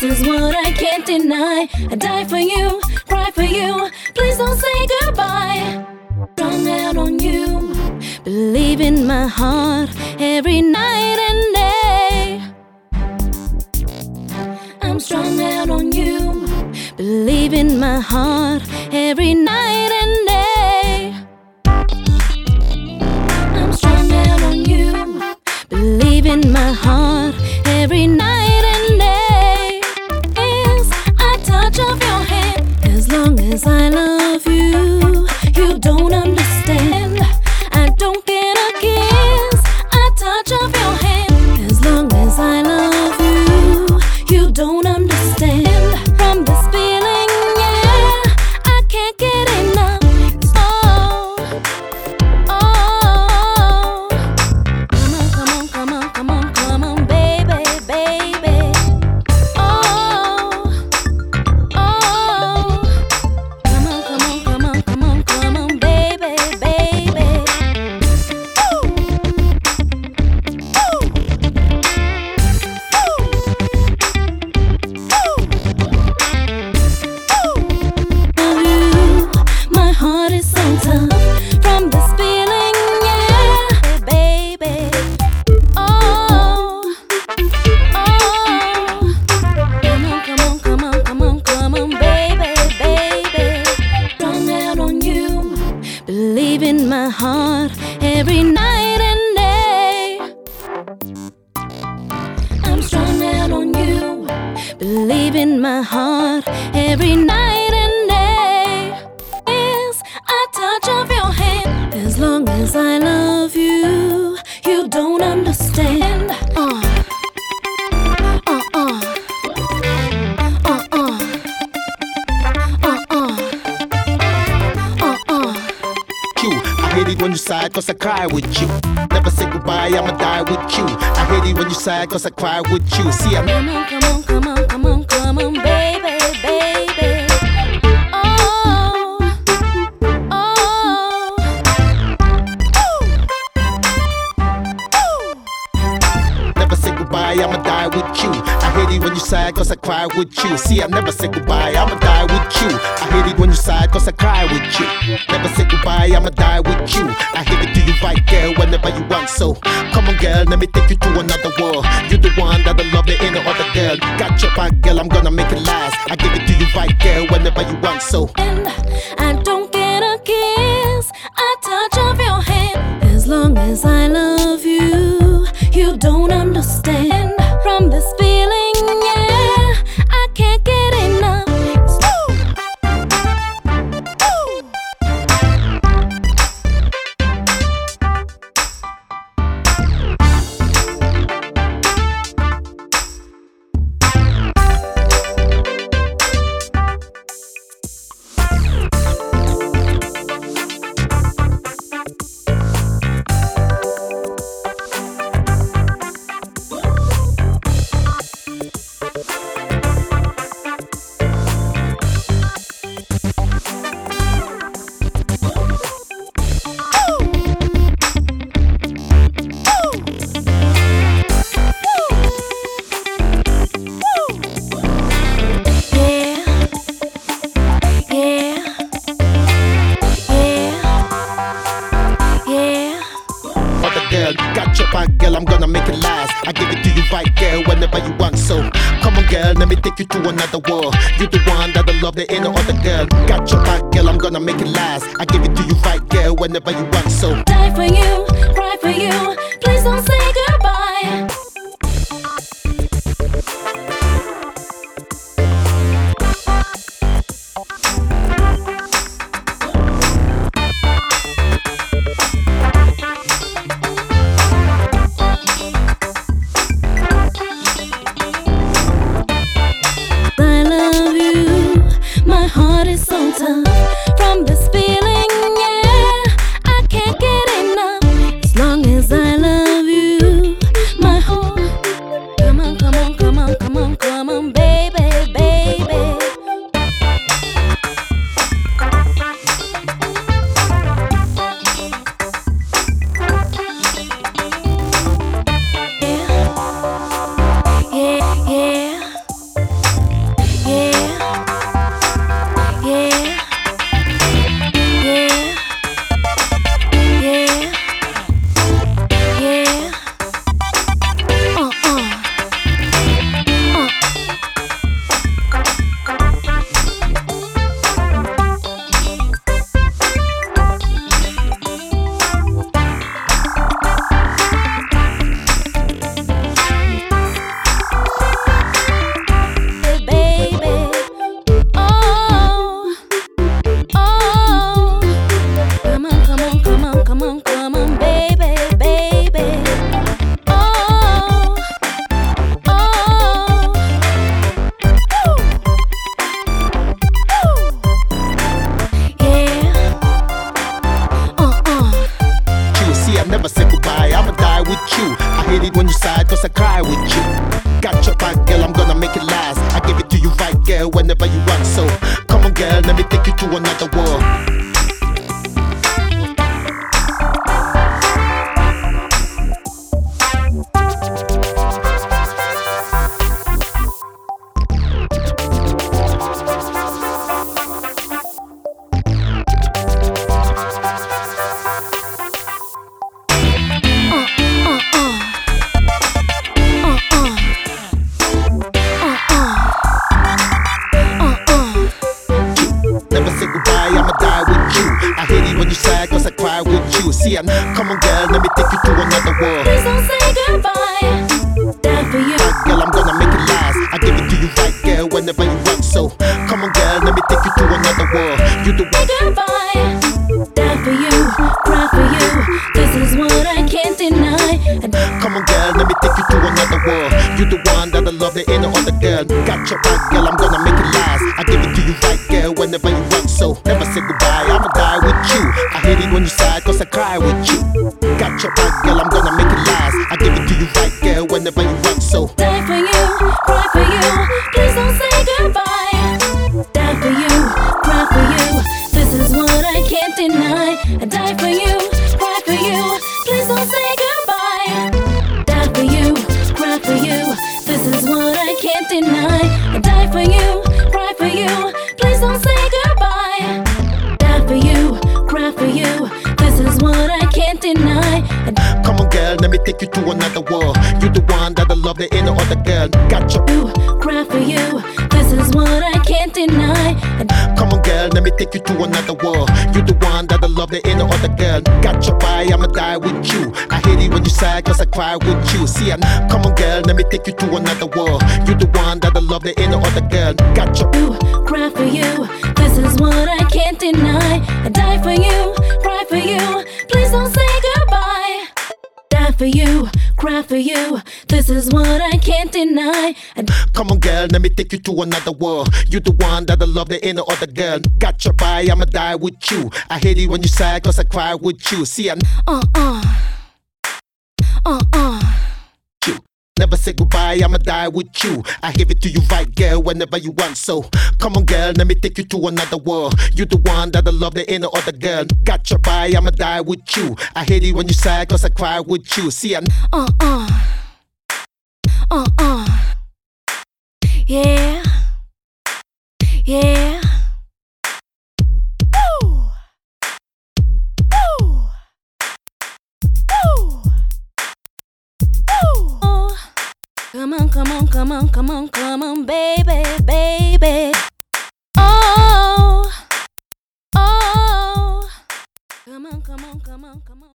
This is what I can't deny. I die for you, cry for you. Please don't say goodbye. Strung out on you, believe in my heart every night and day. I'm strung out on you, believe in my heart every night and day. I'm strung out on you, believe in my heart every night and day. Yes, I touch of your hand. As long as I love you, you don't understand. I don't get a kiss, a touch of your hand. As long as I love you, you don't understand. From this feeling, yeah, I can't get enough. Oh, oh, come on, come on, come on, come on, baby, baby. Oh, oh, come on, come on, come on, come on, come on, baby, baby. Ooh, ooh, my heart is so tough from this feeling, yeah, baby. Oh, oh, come on, come on, come on, come on, come on, baby, baby. Strung out on you, believe in my heart every night and day. I'm strung out on you, believe in my heart every night and day. Yes, a touch of your hand. As long as I love you, you don't understand. Uh, uh, uh, uh, uh, You, I hate it when you sigh cause I cry with you. Never say goodbye, I'ma die with you. I hate it when you sigh cause I cry with you. See, I'm come on, come on, come on, come on, come on, baby, baby. Oh, oh, never say goodbye, I'ma die with you. I hate it when you sigh cause I cry with you. See, I never say goodbye, I'ma die with you. I hate it when you sigh cause I cry with you. Never say goodbye, I'ma die with you. I hate it to you right, girl, whenever you want. So come on, girl, let me take you to another world. You're the one that I love, there ain't no other girl. Got your back, girl, I'm gonna make it last. I give it to you right, girl, whenever you want. So and I don't get a kiss, a touch of your hand. As long as I love you, you don't understand. From this feeling, yeah, I can't get enough. got your back, girl, I'm gonna make it last. I give it to you right, girl, whenever you want. So come on, girl, let me take you to another world. You're the one that I love, there ain't no other girl. Got your back, girl, I'm gonna make it last. I give it to you right, girl, whenever you want. So die for you, cry for you. Please don't say goodbye. I love you, my heart is so tough from this feeling, yeah, I can't get enough. As long as I love you, my heart come on, baby, baby. Oh, oh, woo, yeah. You see, I never say goodbye, I'ma die with you. I hate it when you sigh, cause I cry with you. Got your back, girl, I'm gonna make it last. I give it to you right, girl, whenever you want. So, come on, girl, let me take you to another world. Cause I cry with you. See, come on, girl, let me take you to another world. Please don't say goodbye. Die for you. Right, girl, I'm gonna make it last. I give it to you right, girl, whenever you want. So, come on, girl, let me take you to another world. You the one. Goodbye. Die for you. Cry for you. This is what I can't deny. Come on, girl, let me take you to another world. You the one that I love, there ain't no other girl. Got your back, girl, I'm gonna make it last. I give it to you right, girl, whenever you want. So, never say goodbye, I'ma die with you. I hate it when you sigh, cause I cry with you. Got your back, girl, I'm gonna make it last. I give it to you right, girl, whenever you want. So, die for you, cry for you. Please don't say goodbye. Die for you, cry for you. This is what I can't deny. I die for you, cry for you. Please don't say goodbye. Die for you, cry for you. This is what I can't deny. I die for you, cry for you. Please don't say goodbye. Die for you, cry for you. This is what I can't deny. Come on, girl, let me take you to another world. You the one that I love, there ain't no other girl. Got your cry for you. This is what I can't deny. Come on, girl, let me take you to another world. You the one that I love, there ain't no other girl. Got your body, I'ma die with you. I hate it when you sigh, cause I cry with you. See, come on, girl, let me take you to another world. You the one that I love, there ain't no other girl. Got your cry for you. This is what I can't deny. I die for you, cry for you. Please don't say goodbye. Die for you, cry for you. This is what I can't deny. Come on, girl, let me take you to another world. You the one that I love, there ain't no other girl. Got your body, I'ma die with you. I hate it when you sigh, cause I cry with you. See, you never say goodbye, I'ma die with you. I give it to you right, girl, whenever you want. So, come on, girl, let me take you to another world. You the one that I love, there ain't no other girl. Got your body, I'ma die with you. I hate it when you sigh, cause I cry with you. See, yeah. Yeah. Woo. Woo. Woo. Woo. Come on, come on, come on, come on, come on, baby, baby. Oh, oh. Come on, come on, come on, come on.